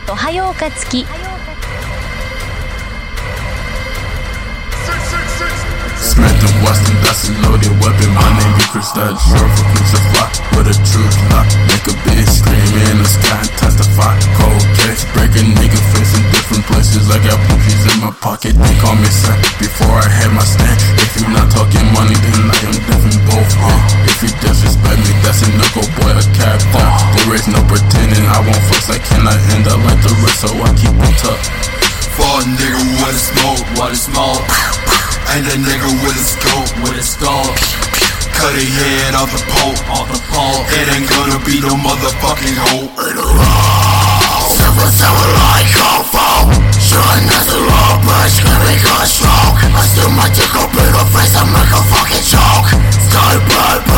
とはようかつき。 Smith and Wesson, that's a loaded weapon. My name be Chris, that short for crucify with a true plot. Make a bitch scream in the sky and testify. Cold case, break a nigga face in different places. I got bookies in my pocket, they call me Sam. Before I had my stand, if you not talking money, then I am different both way. If you disrespect me, that's a knuckle boy, a captain. There is no pretending, I won't flex, I cannot end up like the rest, so I keep on tough. For a nigga with a smoke, what a smoke. Ain't a nigga with a scope, with a scope. Cut a head off the pole, It ain't gonna be no motherfucking hope. Several like cold foam. Shooting at the low bridge, screaming gun stroke. I still my dick up in the face, I make a fucking joke. Sky blood.